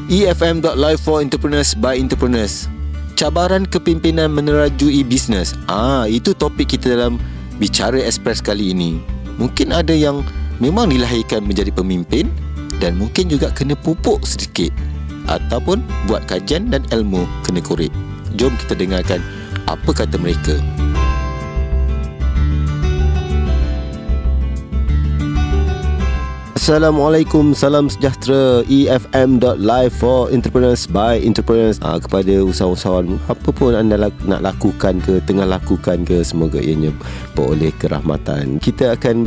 EFM.live for entrepreneurs by entrepreneurs. Cabaran kepimpinan menerajui bisnes. Itu topik kita dalam Bicara Express kali ini. Mungkin ada yang memang dilahirkan menjadi pemimpin dan mungkin juga kena pupuk sedikit, ataupun buat kajian dan ilmu kena korek. Jom kita dengarkan apa kata mereka. Assalamualaikum, salam sejahtera. EFM.live for entrepreneurs by entrepreneurs. Kepada usahawan apa pun anda nak lakukan ke, tengah lakukan ke, semoga ianya beroleh kerahmatan. Kita akan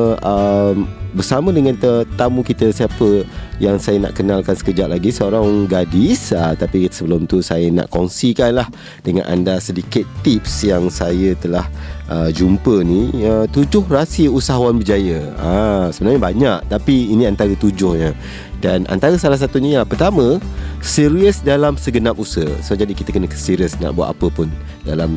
bersama dengan tamu kita, siapa yang saya nak kenalkan sekejap lagi, seorang gadis. Tapi sebelum tu saya nak kongsikan lah dengan anda sedikit tips yang saya telah jumpa ni. 7 rahsia usahawan berjaya. Sebenarnya banyak, tapi ini antara 7-nya. Dan antara salah satunya yang pertama, serius dalam segenap usaha. So jadi kita kena serius nak buat apa pun dalam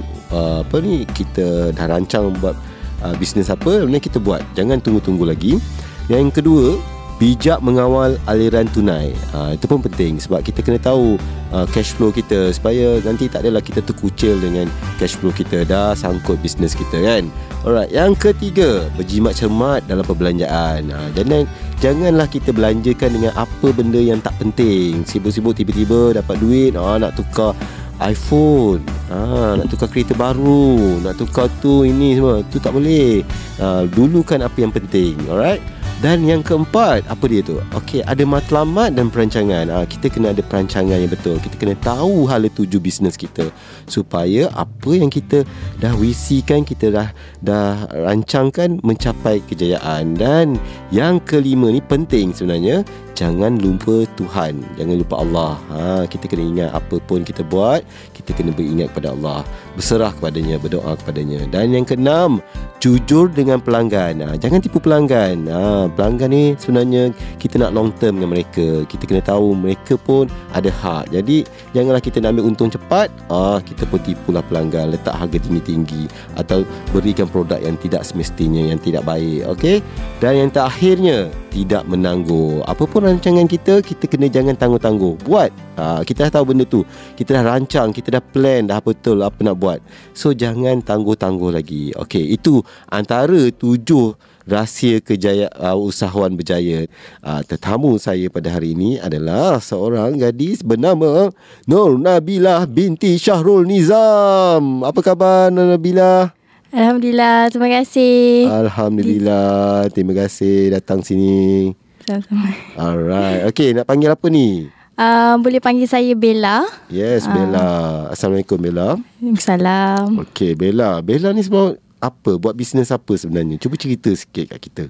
kita dah rancang buat bisnes apa, kemudian kita buat. Jangan tunggu-tunggu lagi. Yang kedua, bijak mengawal aliran tunai. Itu pun penting sebab kita kena tahu cash flow kita, supaya nanti tak adalah kita terkucil dengan cash flow kita dah sangkut bisnes kita kan. Alright, yang ketiga, berjimat cermat dalam perbelanjaan. Janganlah kita belanjakan dengan apa benda yang tak penting. Sibuk-sibuk tiba-tiba dapat duit, nak tukar iPhone, nak tukar kereta baru, nak tukar tu ini semua. Tu tak boleh. Dulukan apa yang penting. Alright. Dan yang keempat, apa dia tu? Okey, ada matlamat dan perancangan. Kita kena ada perancangan yang betul. Kita kena tahu hala tuju bisnes kita, supaya apa yang kita dah visikan, kita dah rancangkan mencapai kejayaan. Dan yang kelima ni penting sebenarnya, jangan lupa Tuhan, jangan lupa Allah. Kita kena ingat apa pun kita buat, kita kena beringat kepada Allah, berserah kepadanya, berdoa kepadanya. Dan yang keenam, jujur dengan pelanggan. Jangan tipu pelanggan. Pelanggan ni sebenarnya kita nak long term dengan mereka. Kita kena tahu mereka pun ada hak. Jadi janganlah kita nak ambil untung cepat, kita pun tipulah pelanggan, letak harga tinggi-tinggi atau berikan produk yang tidak semestinya, yang tidak baik. Okey. Dan yang terakhirnya, tidak menangguh. Apa pun rancangan kita kena jangan tangguh-tangguh. Buat. Kita dah tahu benda tu, kita dah rancang, kita dah plan dah betul apa nak buat. So jangan tangguh-tangguh lagi. Okey, itu antara 7 rahsia usahawan berjaya. Tetamu saya pada hari ini adalah seorang gadis bernama Nur Nabilah binti Syahrul Nizam. Apa khabar Nur Nabilah? Alhamdulillah, terima kasih. Alhamdulillah, terima kasih datang sini. Sama-sama. Alright, okay, nak panggil apa ni? Boleh panggil saya Bella. Yes, Bella. Assalamualaikum Bella. Waalaikumsalam. Okay, Bella ni sebab apa? Buat bisnes apa sebenarnya? Cuba cerita sikit kat kita.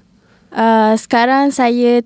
Sekarang saya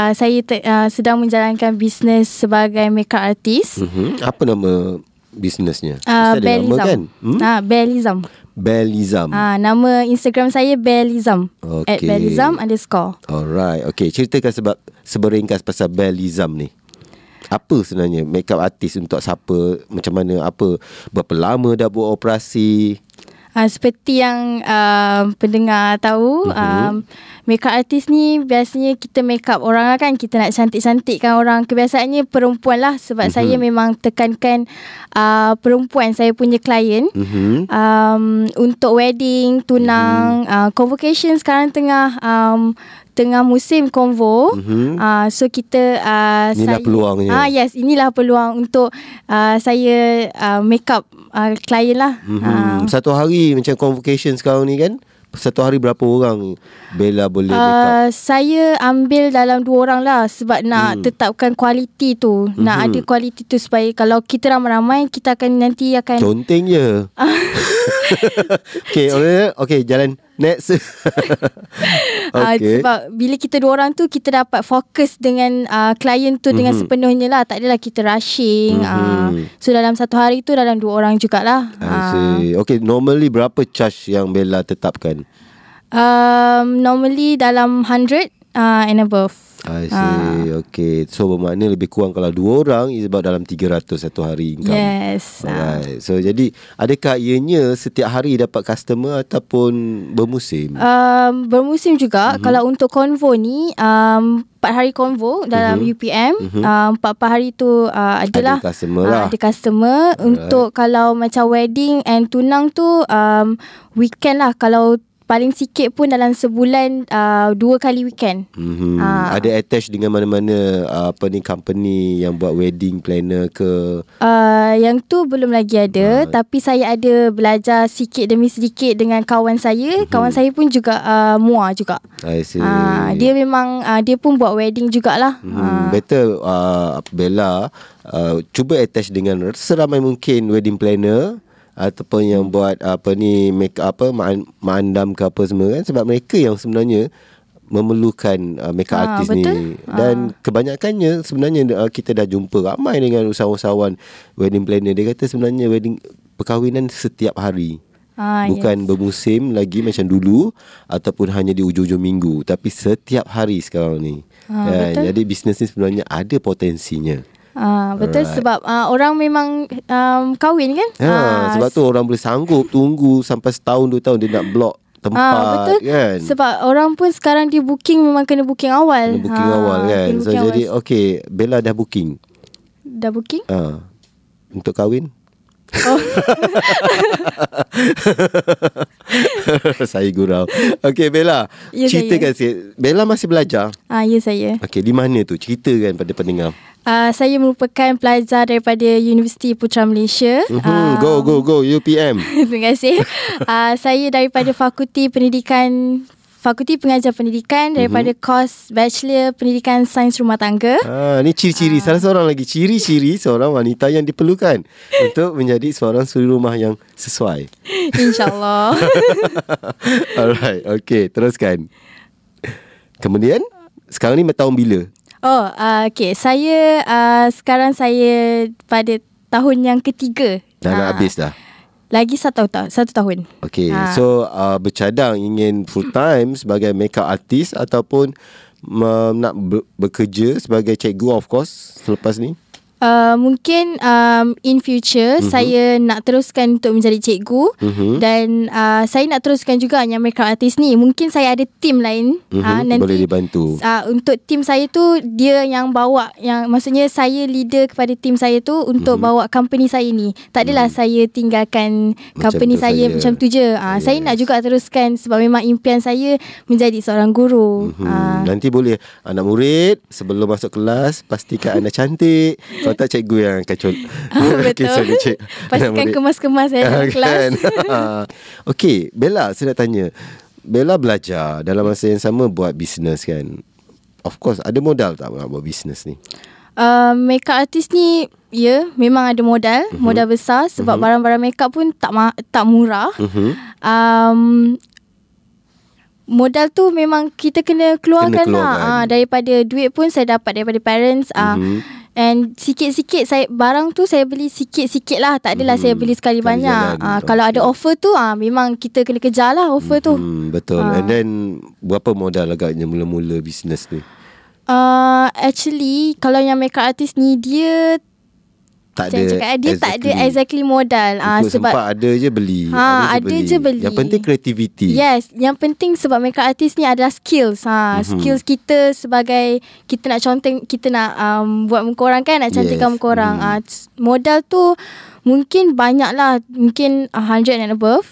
sedang menjalankan bisnes sebagai makeup artist. Apa nama bisnesnya? Bellizam kan? Bellizam. Bellizam. Nama Instagram saya Bellizam. Okay. @Bellizam_. Alright. Okay, ceritakan sebab seberingkas pasal Bellizam ni. Apa sebenarnya makeup artist untuk siapa? Macam mana? Apa? Berapa lama dah buat operasi? Seperti yang pendengar tahu, makeup artist ni biasanya kita make up orang lah kan. Kita nak cantik-cantikkan orang. Kebiasaannya perempuan lah. Sebab saya memang tekankan perempuan saya punya klien. Untuk wedding, tunang, convocation sekarang tengah musim konvo. So kita inilah peluangnya. Yes, inilah peluang untuk saya make up klien lah. Satu hari macam convocation sekarang ni kan, satu hari berapa orang Bella boleh make up? Saya ambil dalam 2 orang lah. Sebab nak tetapkan kualiti tu. Nak ada kualiti tu, supaya kalau kita ramai-ramai, kita akan nanti akan conteng je. Okay, jalan next. Okay. Sebab bila kita 2 orang tu, kita dapat fokus dengan klien tu dengan sepenuhnya lah. Tak adalah kita rushing. So dalam satu hari tu dalam 2 orang jugalah. Okay, normally berapa charge yang Bella tetapkan? Normally dalam 100. and above. I see. Okay. So bermakna lebih kurang kalau 2 orang is about dalam 300 satu hari income. Yes. Alright. So jadi adakah ianya setiap hari dapat customer ataupun bermusim? Bermusim juga. Kalau untuk convo ni 4 hari convo dalam UPM. 4 hari tu adalah ada customer lah. Ada customer. Untuk kalau macam wedding and tunang tu weekend lah. Kalau paling sikit pun dalam sebulan 2 kali weekend. Ada attach dengan mana-mana company yang buat wedding planner ke? Yang tu belum lagi ada. Tapi saya ada belajar sikit demi sedikit dengan kawan saya. Kawan saya pun juga mua juga. I see. Dia memang dia pun buat wedding jugalah. Better Bella cuba attach dengan seramai mungkin wedding planner ataupun yang buat make up mandam ke apa semua kan, sebab mereka yang sebenarnya memerlukan make up artist ni. Dan kebanyakannya sebenarnya kita dah jumpa ramai dengan usahawan-usahawan wedding planner, dia kata sebenarnya wedding perkahwinan setiap hari. Bukan bermusim lagi macam dulu ataupun hanya di ujung-ujung minggu, tapi setiap hari sekarang ni. Jadi bisnes ni sebenarnya ada potensinya. Betul. Alright. Sebab orang memang kahwin kan. Sebab tu orang boleh sanggup tunggu sampai setahun 2 tahun dia nak block tempat. Betul kan. Sebab orang pun sekarang dia booking memang kena booking awal. Kena booking awal kan. So jadi okay, Bella dah booking. Dah booking? Untuk kahwin. Saya gurau. Okay Bella, ceritakan sikit. Bella masih belajar? Ya saya. Okay, di mana tu? Ceritakan pada pendengar. Saya merupakan pelajar daripada Universiti Putra Malaysia. Go UPM. Terima kasih. Saya daripada Fakulti Pengajar Pendidikan daripada kos Bachelor Pendidikan Sains Rumah Tangga. Ni ciri-ciri salah seorang lagi ciri-ciri seorang wanita yang diperlukan untuk menjadi seorang suri rumah yang sesuai. InsyaAllah. Alright, okay, teruskan. Kemudian sekarang ni tahun bila? Okay, saya sekarang saya pada tahun yang ketiga. Dah nak habis dah? Lagi 1 tahun. Okay, so bercadang ingin full time sebagai makeup artist ataupun nak bekerja sebagai cikgu of course selepas ni? Mungkin in future saya nak teruskan untuk menjadi cikgu. Dan saya nak teruskan juga yang makeup artist ni. Mungkin saya ada team lain nanti boleh dibantu. Untuk team saya tu dia yang bawa, yang maksudnya saya leader kepada team saya tu untuk bawa company saya ni. Tak adalah saya tinggalkan company saya macam tu je. Saya nak juga teruskan sebab memang impian saya menjadi seorang guru. Nanti boleh anak murid sebelum masuk kelas pastikan anda cantik. Kalau tak, cikgu yang akan betul. Pastikan kemas-kemas dalam kelas. Okay, Bella, saya nak tanya. Bella belajar dalam masa yang sama buat bisnes kan. Of course, ada modal tak nak buat bisnes ni? Makeup artist ni memang ada modal besar sebab barang-barang makeup pun tak murah. Modal tu memang kita kena keluarkan lah. Daripada duit pun saya dapat daripada parents. And sikit-sikit barang tu saya beli sikit-sikit lah. Tak adalah saya beli sekali banyak. Kalau ada offer tu memang kita kena kejar lah offer tu. Betul. And then berapa modal agaknya mula-mula bisnes ni? Actually kalau yang makeup artist ni dia tak ada exactly modal. Sebab sempat ada je beli. Ada je beli. Yang penting kreativiti. Yes, yang penting sebab makeup artist ni adalah skills. Skills kita sebagai kita nak conteng, kita nak buat muka orang kan, nak cantikkan muka orang. Modal tu mungkin banyak lah, mungkin 100 and above.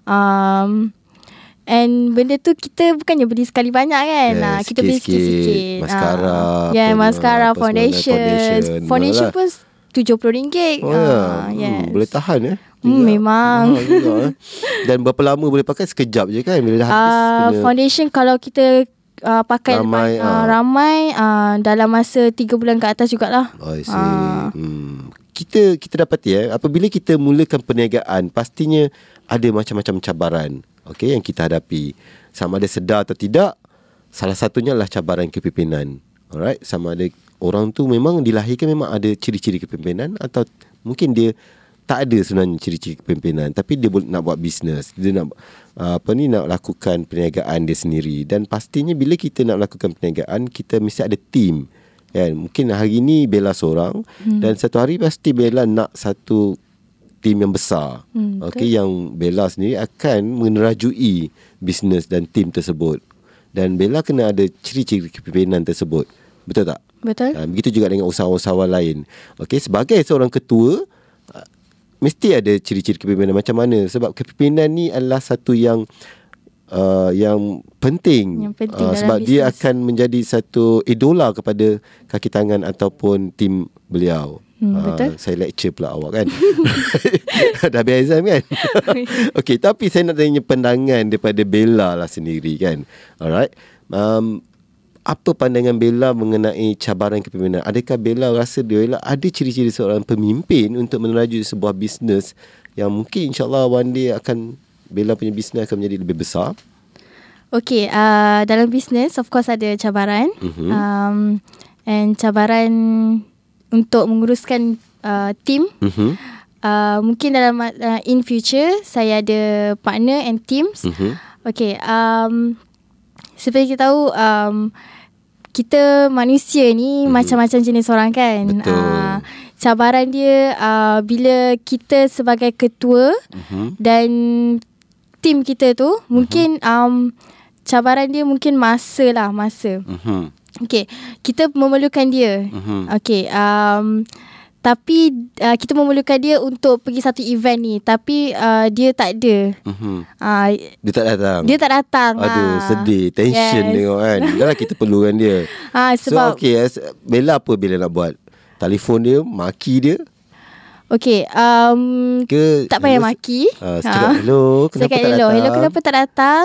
And benda tu kita bukannya beli sekali banyak kan. Kita beli sikit-sikit. Maskara. Maskara, foundation pun RM70. Yes. Boleh tahan memang. Dan berapa lama boleh pakai? Sekejap je kan bila dah habis? Foundation kalau kita pakai ramai dalam masa 3 bulan ke atas jugalah. I see. Kita dapati apabila kita mulakan perniagaan, pastinya ada macam-macam cabaran yang kita hadapi. Sama ada sedar atau tidak, salah satunya adalah cabaran kepimpinan. Alright, sama ada orang tu memang dilahirkan memang ada ciri-ciri kepimpinan atau mungkin dia tak ada sebenarnya ciri-ciri kepimpinan, tapi dia nak buat bisnes, dia nak nak lakukan perniagaan dia sendiri. Dan pastinya bila kita nak lakukan perniagaan, kita mesti ada team kan. Mungkin hari ni Bella seorang, dan satu hari pasti Bella nak satu team yang besar. Okey, yang Bella sendiri akan menerajui bisnes dan team tersebut. Dan Bella kena ada ciri-ciri kepimpinan tersebut. Betul tak? Betul. Begitu juga dengan usahawan-usahawan lain. Okey, sebagai seorang ketua, mesti ada ciri-ciri kepimpinan macam mana. Sebab kepimpinan ni adalah satu yang penting, sebab business. dia akan menjadi satu idola kepada kaki tangan ataupun tim beliau. Betul. Saya lecture pula awak kan. Dah habis exam kan. Okey, tapi saya nak tanya pandangan daripada Bella lah sendiri kan. Alright. Apa pandangan Bella mengenai cabaran kepimpinan? Adakah Bella rasa Bella ada ciri-ciri seorang pemimpin untuk menerajui sebuah bisnes yang mungkin insyaAllah one day akan Bella punya bisnes akan menjadi lebih besar? Okay, dalam bisnes of course ada cabaran. And cabaran untuk menguruskan team. Mungkin dalam in future saya ada partner and teams. Okay, seperti kita tahu, kita manusia ni macam-macam jenis orang kan. Cabaran dia bila kita sebagai ketua dan tim kita tu mungkin cabaran dia mungkin masa. Okay, kita memerlukan dia. Okay, tapi kita memerlukan dia untuk pergi satu event ni, tapi dia tak ada. Dia tak datang. Aduh, sedih, tension tengok kan. Dah kita perlukan dia. Sebab so okay, Bella apa Bella nak buat? Telefon dia, maki dia? Okay, tak payah maki. Cakap hello, kenapa tak datang? Hello, kenapa tak datang?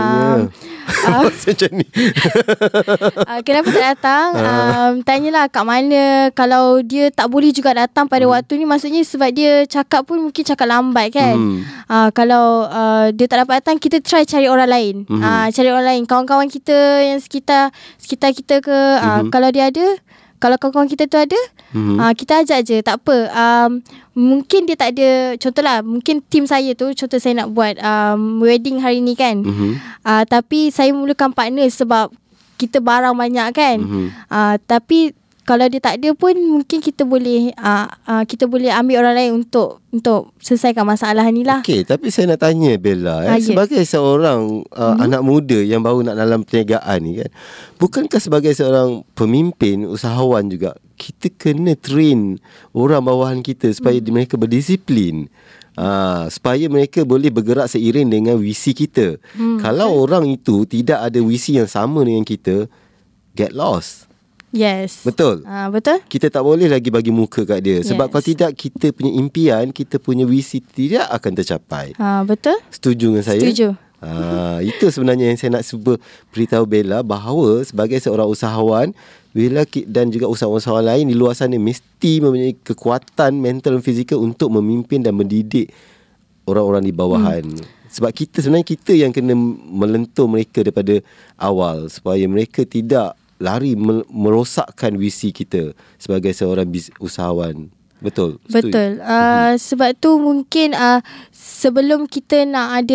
Macam ni. Kenapa tak datang? Tanyalah kat mana. Kalau dia tak boleh juga datang pada waktu ni, maksudnya sebab dia cakap pun mungkin cakap lambat kan. Kalau dia tak dapat datang, kita try cari orang lain. Cari orang lain, kawan-kawan kita yang sekitar kita ke. Kalau dia ada, kalau kawan-kawan kita tu ada, kita ajak je, tak apa. Mungkin dia tak ada. Contohlah, mungkin tim saya tu, contoh saya nak buat wedding hari ni kan. Tapi saya memerlukan partner sebab kita barang banyak kan. Tapi kalau dia tak ada pun, mungkin kita boleh ambil orang lain untuk selesaikan masalah ni lah. Okay, tapi saya nak tanya Bella, sebagai seorang anak muda yang baru nak dalam perniagaan ni kan, bukankah sebagai seorang pemimpin, usahawan juga, kita kena train orang bawahan kita supaya mereka berdisiplin, supaya mereka boleh bergerak seiring dengan visi kita. Kalau orang itu tidak ada visi yang sama dengan kita, get lost. Yes. Betul. Betul. Kita tak boleh lagi bagi muka kat dia. Sebab kalau tidak, kita punya impian, kita punya visi tidak akan tercapai. Betul. Setuju dengan saya? Setuju. Itu sebenarnya yang saya nak cuba beritahu Bella, bahawa sebagai seorang usahawan, Bella dan juga usahawan-usahawan lain di luar sana mesti mempunyai kekuatan mental dan fizikal untuk memimpin dan mendidik orang-orang di bawahan. Sebab sebenarnya kita yang kena melentur mereka daripada awal, supaya mereka tidak lari merosakkan visi kita sebagai seorang usahawan. Betul. Betul. Sebab tu mungkin sebelum kita nak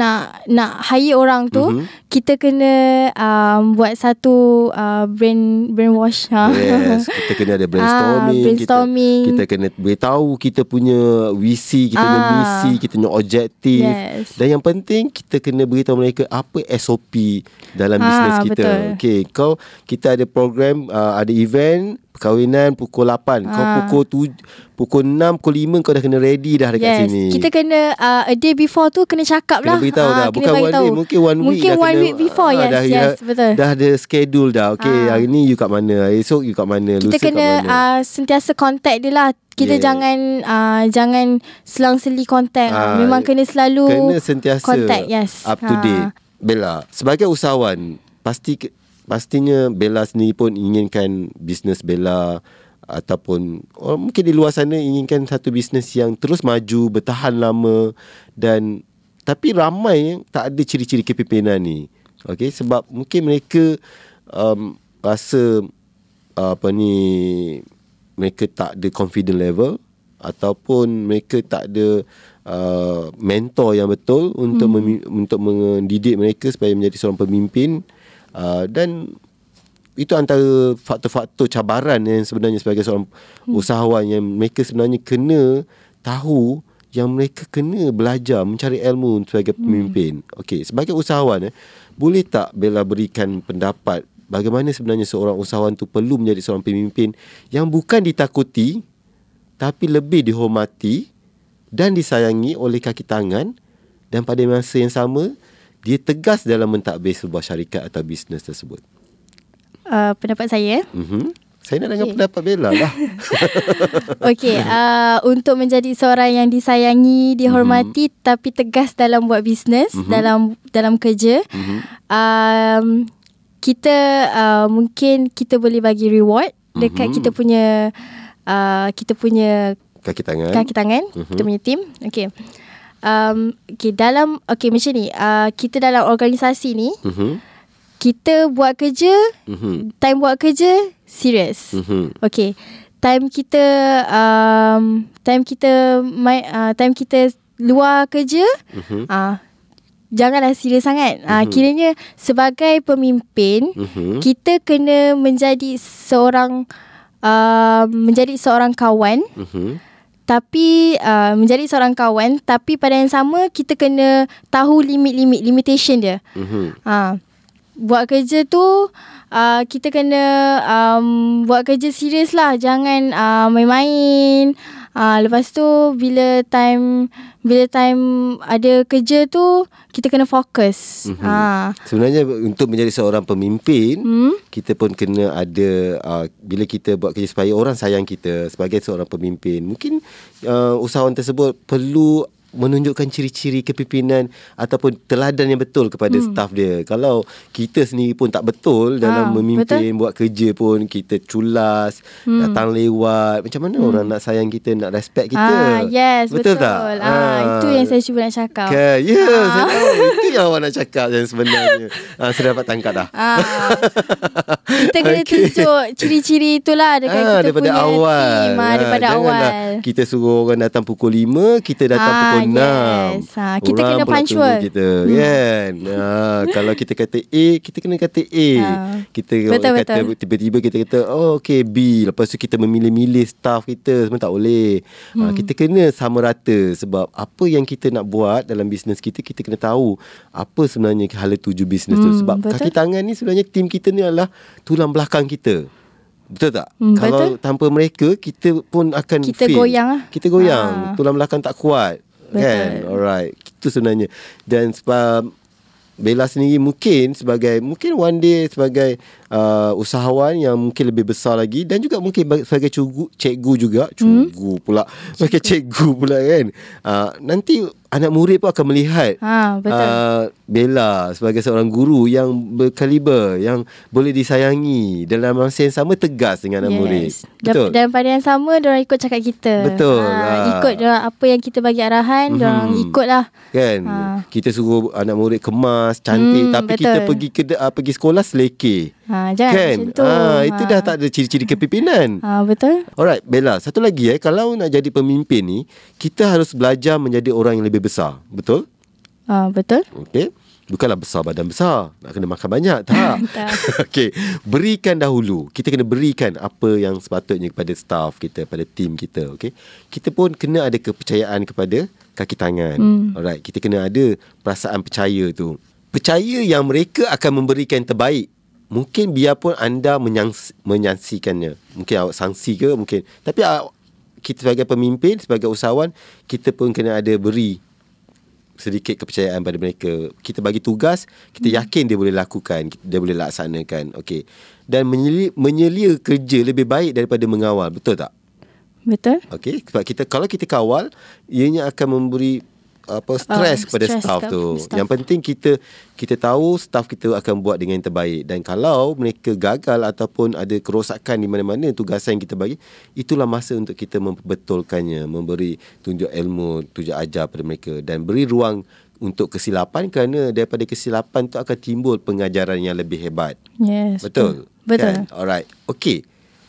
hire orang tu, kita kena buat satu brainwash. Yes, kita kena ada brainstorming. Kita kena beritahu kita punya visi, kita punya misi, kita punya objektif. Dan yang penting, kita kena beritahu mereka apa SOP dalam bisnes kita. Okay, kita ada program, ada event perkahwinan pukul 8. Kau pukul 6, pukul 5 kau dah kena ready dah dekat sini. Kita kena a day before tu kena cakap lah. Kena beritahu dah. Bukan one day, mungkin one week dah. Mungkin 1 week before. Betul. Dah ada schedule dah. Okay, hari ni you kat mana, esok you kat mana, kita lusa kena kat mana. Sentiasa contact dia lah. Kita jangan selang-seli contact. Memang kena selalu sentiasa contact. Up to date. Bella, sebagai usahawan, pastinya Bella sendiri pun inginkan bisnes Bella, ataupun mungkin di luar sana inginkan satu bisnes yang terus maju, bertahan lama, tapi ramai yang tak ada ciri-ciri kepimpinan ni. Okay, sebab mungkin mereka rasa mereka tak ada confident level, ataupun mereka tak ada mentor yang betul untuk untuk mendidik mereka supaya menjadi seorang pemimpin, dan itu antara faktor-faktor cabaran yang sebenarnya sebagai seorang usahawan yang mereka sebenarnya kena tahu, yang mereka kena belajar mencari ilmu sebagai pemimpin. Okey, sebagai usahawan boleh tak Bella berikan pendapat bagaimana sebenarnya seorang usahawan tu perlu menjadi seorang pemimpin yang bukan ditakuti tapi lebih dihormati dan disayangi oleh kaki tangan, dan pada masa yang sama dia tegas dalam mentadbir sebuah syarikat atau bisnes tersebut? Pendapat saya, Saya nak dengar pendapat Bella lah. Okey, untuk menjadi seorang yang disayangi, dihormati tapi tegas dalam buat bisnes, dalam kerja, kita mungkin kita boleh bagi reward dekat kita punya kaki tangan, kita punya team. Okey. Okey macam ni, kita dalam organisasi ni, kita buat kerja, time buat kerja serius. Okey. Time kita luar kerja, janganlah serius sangat. Kiranya sebagai pemimpin, kita kena menjadi seorang kawan. Tapi menjadi seorang kawan, tapi pada yang sama kita kena tahu limitation dia. Buat kerja tu kita kena buat kerja serius lah, jangan main-main. Lepas tu bila time ada kerja tu, kita kena fokus. Sebenarnya untuk menjadi seorang pemimpin, kita pun kena ada bila kita buat kerja supaya orang sayang kita sebagai seorang pemimpin, mungkin usahawan tersebut perlu menunjukkan ciri-ciri kepimpinan ataupun teladan yang betul kepada staf dia. Kalau kita sendiri pun tak betul dalam memimpin, buat kerja pun kita culas, datang lewat, macam mana orang nak sayang kita, nak respect kita? Yes, betul tak? Itu yang saya cuba nak cakap. Saya tahu itu yang awak nak cakap yang sebenarnya. Saya dapat tangkap dah. Kita kena tunjuk ciri-ciri itulah dekat kita daripada punya awal. team, daripada awal. Kita suruh orang datang pukul 5, kita datang pukul 6. Kita kena punctual kita, kan? Kalau kita kata A, kita kena kata A. Kita kata tiba-tiba kita kata okey B, lepas tu kita memilih-milih staff kita, semua tak boleh. Kita kena sama rata, sebab apa yang kita nak buat dalam bisnes kita, kita kena tahu apa sebenarnya hala tuju bisnes tu. Sebab kaki tangan ni sebenarnya tim kita ni adalah tulang belakang kita. Betul tak? Kalau tanpa mereka, kita pun akan fail. Kita goyang. Tulang belakang tak kuat. Betul. Kan? Alright. Itu sebenarnya. Dan sebab Bella sendiri mungkin one day sebagai usahawan yang mungkin lebih besar lagi, dan juga mungkin sebagai cikgu juga. Sebagai cikgu pula kan. Nanti anak murid pun akan melihat Bella sebagai seorang guru yang berkaliber, yang boleh disayangi, dalam masa yang sama tegas dengan anak murid. Betul. Dan pada yang sama diorang ikut cakap kita. Betul. Ikut diorang, apa yang kita bagi arahan, diorang ikutlah. Kan? Kita suruh anak murid kemas, cantik, tapi betul. Kita pergi sekolah selekeh. Jangan kan? Macam tu. Itu dah tak ada ciri-ciri kepimpinan. Betul. Alright, Bella, satu lagi kalau nak jadi pemimpin ni, kita harus belajar menjadi orang yang lebih besar. Betul? Betul. Okey. Bukanlah besar badan besar, nak kena makan banyak, tak. Okey, berikan dahulu. Kita kena berikan apa yang sepatutnya kepada staff kita, pada tim kita. Okey, kita pun kena ada kepercayaan kepada kaki tangan. Alright, kita kena ada perasaan percaya tu. Percaya yang mereka akan memberikan yang terbaik. Mungkin biarpun anda menyaksikannya, mungkin awak sangsi ke mungkin, tapi kita sebagai pemimpin, sebagai usahawan, kita pun kena ada beri sedikit kepercayaan pada mereka. Kita bagi tugas, kita yakin dia boleh lakukan, dia boleh laksanakan. Okey. Dan menyelia kerja lebih baik daripada mengawal. Betul tak? Betul. Okey, sebab kalau kita kawal, ianya akan memberi stres kepada staff tu. Yang penting kita tahu staff kita akan buat dengan yang terbaik, dan kalau mereka gagal ataupun ada kerosakan di mana-mana tugasan yang kita bagi, itulah masa untuk kita memperbetulkannya, memberi tunjuk ilmu, tunjuk ajar pada mereka, dan beri ruang untuk kesilapan, kerana daripada kesilapan tu akan timbul pengajaran yang lebih hebat. Yes. Betul. Betul. Kan? Alright. Okey.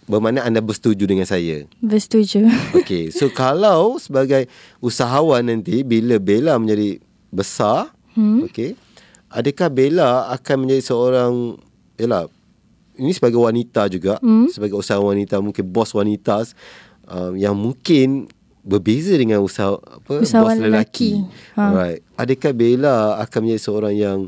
bermakna anda bersetuju dengan saya. Bersetuju. Okay, so kalau sebagai usahawan nanti bila Bella menjadi besar, okay, adakah Bella akan menjadi seorang, yalah, ini sebagai wanita juga, sebagai usahawan wanita, mungkin bos wanita yang mungkin berbeza dengan bos lelaki. Alright. Adakah Bella akan menjadi seorang yang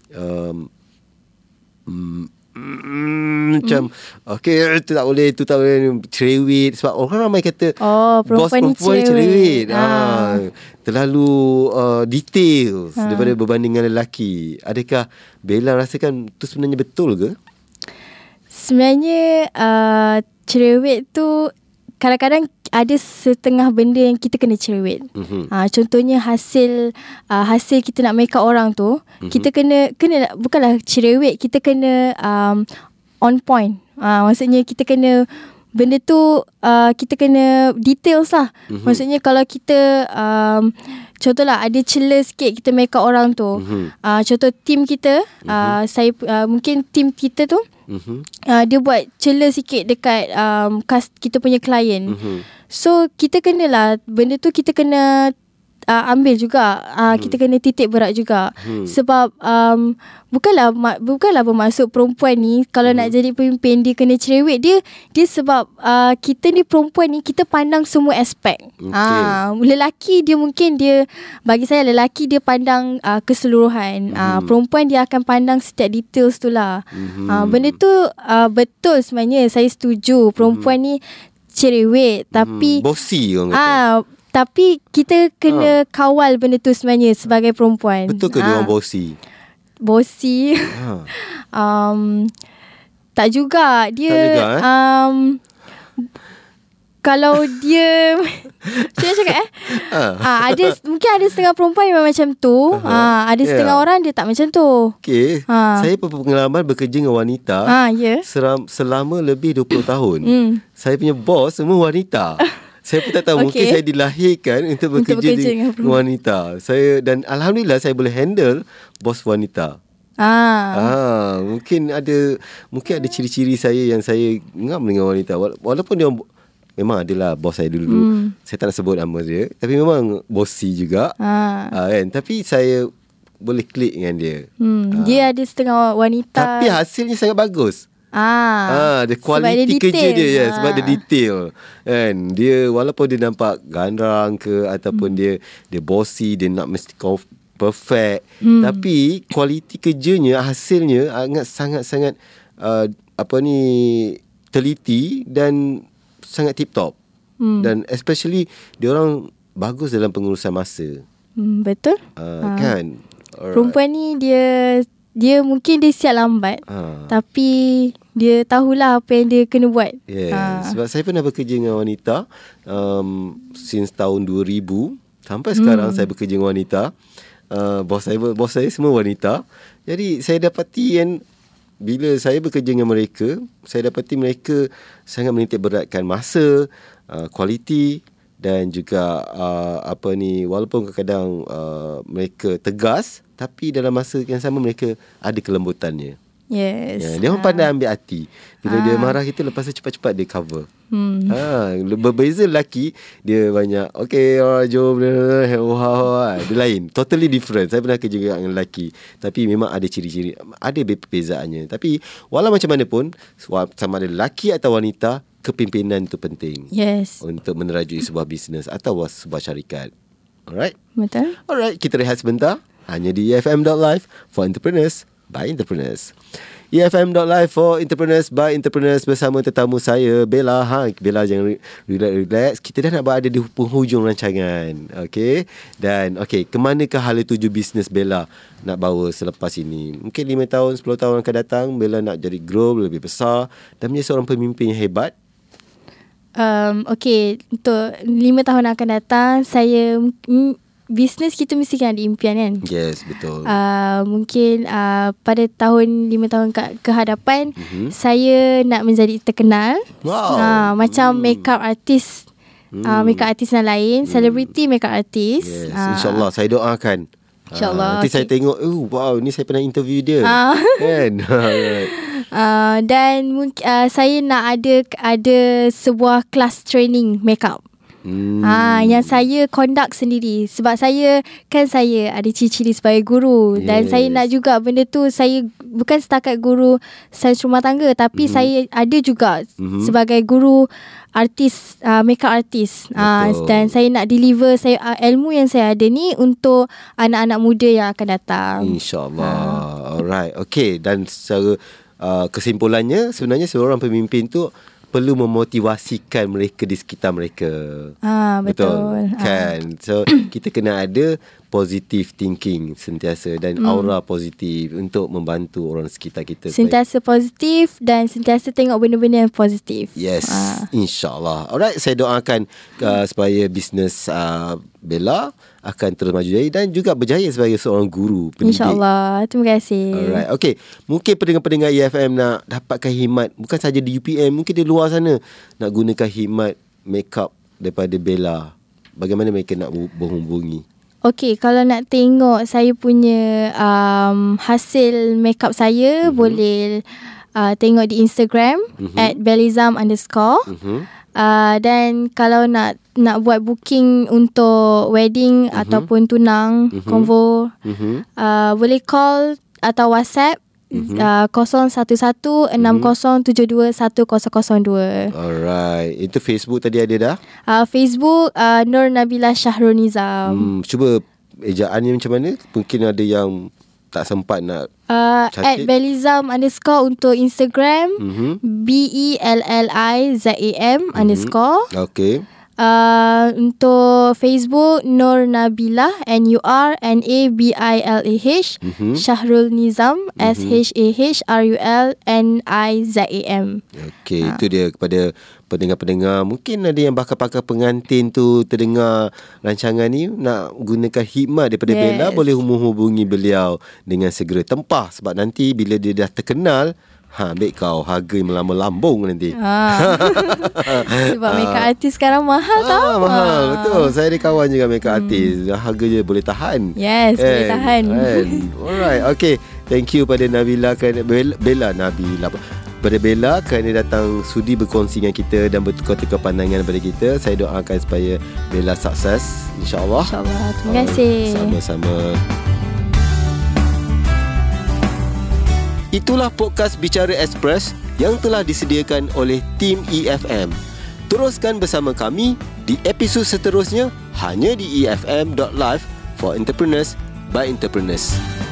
macam okay, itu tak boleh cerewet, sebab orang ramai kata bos perempuan ni cerewet, terlalu detail daripada berbanding dengan lelaki. Adakah Bella rasakan tu sebenarnya betul ke? Sebenarnya cerewet tu kadang-kadang ada setengah benda yang kita kena cerewet. Contohnya hasil kita nak make up orang tu, kita kena bukanlah cerewet, kita kena on point. Maksudnya kita kena benda tu kita kena details lah. Maksudnya kalau kita contohlah ada celah sikit kita make up orang tu, contoh team kita, saya mungkin team kita tu dia buat celah sikit dekat kita punya klien. So kita kenalah benda tu kita kena ambil juga, kita kena titik berat juga. Sebab bukanlah bermaksud perempuan ni kalau nak jadi pemimpin dia kena cerewet. Dia sebab kita ni perempuan ni kita pandang semua aspek. Lelaki dia mungkin bagi saya lelaki dia pandang keseluruhan. Perempuan dia akan pandang setiap details tu lah. Benda tu betul sebenarnya, saya setuju. Perempuan ni cerewet tapi bossy orang kata. Tapi kita kena kawal benda tu sebenarnya sebagai perempuan. Betul ke dia orang bossy? Bossy? Tak juga. Dia kalau dia macam mana cakap mungkin ada setengah perempuan yang macam tu. Ada setengah orang dia tak macam tu. Okay. Saya berpengalaman bekerja dengan wanita selama lebih 20 tahun. Saya punya bos semua wanita. Saya pun tak tahu, mungkin saya dilahirkan untuk bekerja dengan wanita. Dan alhamdulillah saya boleh handle bos wanita. Mungkin ada ciri-ciri saya yang saya ngam dengan wanita. Walaupun dia memang adalah bos saya dulu. Saya tak nak sebut nama dia, tapi memang bossy juga. Kan? Tapi saya boleh klik dengan dia. Dia ada setengah wanita. Tapi hasilnya sangat bagus. Dia kualiti kerja dia sebab dia detail. Kan? Dia walaupun dia nampak gandrang ke ataupun dia bossy, dia nak mesti perfect, tapi kualiti kerjanya, hasilnya sangat-sangat teliti dan sangat tip top. Dan especially dia orang bagus dalam pengurusan masa. Betul. Kan? Perempuan ni dia mungkin dia siap lambat, tapi dia tahulah apa yang dia kena buat. Sebab saya pernah bekerja dengan wanita since tahun 2000 sampai sekarang. Saya bekerja dengan wanita. Bos saya semua wanita. Jadi saya dapati bila saya bekerja dengan mereka, saya dapati mereka sangat menitik beratkan masa, kualiti dan juga walaupun kadang-kadang mereka tegas, tapi dalam masa yang sama mereka ada kelembutannya. Dia orang pandai ambil hati. Bila dia marah kita, lepas tu cepat-cepat dia cover. Berbeza lelaki, dia banyak jom, dia lain, totally different. Saya pernah kerja dengan lelaki, tapi memang ada ciri-ciri, ada perbezaannya. Tapi walau macam mana pun, sama ada lelaki atau wanita, kepimpinan itu penting untuk menerajui sebuah bisnes atau sebuah syarikat. Alright? Betul. Alright, kita rehat sebentar. Hanya di EFM.live for entrepreneurs by entrepreneurs. EFM.live for entrepreneurs by entrepreneurs bersama tetamu saya, Bella. Bella jangan relax. Kita dah nak berada di penghujung rancangan. Okay. Dan kemanakah hala tuju bisnes Bella nak bawa selepas ini? Mungkin 5 tahun, 10 tahun akan datang, Bella nak jadi grow lebih besar dan menjadi seorang pemimpin yang hebat. Untuk 5 tahun akan datang, saya bisnes kita mesti kan ada impian kan. Yes, betul. Mungkin pada tahun 5 tahun ke hadapan, saya nak menjadi terkenal. Macam makeup artist, makeup artist yang lain, celebrity makeup artist. Yes, insyaAllah saya doakan. InsyaAllah. Nanti saya tengok, wow, ni saya pernah interview dia. Kan? Dan saya nak ada sebuah kelas training makeup. Yang saya conduct sendiri. Sebab saya ada ciri-ciri sebagai guru. Dan saya nak juga benda tu, saya bukan setakat guru sains rumah tangga, tapi saya ada juga sebagai guru artis, makeup artist. Dan saya nak deliver ilmu yang saya ada ni untuk anak-anak muda yang akan datang, InsyaAllah. Alright. Okay. Dan secara kesimpulannya, sebenarnya seorang pemimpin tu perlu memotivasikan mereka di sekitar mereka. Betul. Kan? So kita kena ada positive thinking sentiasa dan aura positif untuk membantu orang sekitar kita. Sentiasa positif dan sentiasa tengok benda-benda yang positif. Yes, InsyaAllah. Alright, saya doakan supaya bisnes Bella akan terus maju jaya dan juga berjaya sebagai seorang guru pendidik. InsyaAllah. Terima kasih. Alright, okay. Mungkin pendengar-pendengar EFM nak dapatkan khidmat, bukan saja di UPM, mungkin di luar sana nak gunakan khidmat makeup daripada Bella. Bagaimana mereka nak berhubungi? Okay, kalau nak tengok saya punya hasil makeup saya, boleh tengok di Instagram @bellizam_. Dan kalau nak buat booking untuk wedding ataupun tunang, konvo, boleh call atau WhatsApp 011-6072-1002. Alright. Itu Facebook tadi ada dah? Facebook Nur Nabila Syahrul Nizam. Cuba ejaannya macam mana? Mungkin ada yang tak sempat nak @bellizam_ untuk Instagram, BELLIZAM_ Okay. Untuk Facebook Nur Nabilah, NURNABILAH, Syahrul Nizam, SHAHRULNIZAM. Okay, itu dia kepada pendengar-pendengar. Mungkin ada yang bakal-bakal pengantin tu terdengar rancangan ni nak gunakan khidmat daripada Bella, boleh hubungi beliau dengan segera tempah. Sebab nanti bila dia dah terkenal, ambil kau harga yang melambung nanti. Sebab makeup artist sekarang mahal tau. Mahal, betul. Saya ada kawan juga makeup artist. Harga je boleh tahan. Yes, boleh tahan. Alright, okay. Thank you pada Nabila kerana pada Bella kerana datang sudi berkongsi dengan kita dan bertukar-tukar pandangan pada kita. Saya doakan supaya Bella sukses, InsyaAllah. InsyaAllah. Terima kasih. Sama-sama. Itulah podcast Bicara Express yang telah disediakan oleh tim EFM. Teruskan bersama kami di episod seterusnya hanya di EFM.live for entrepreneurs by entrepreneurs.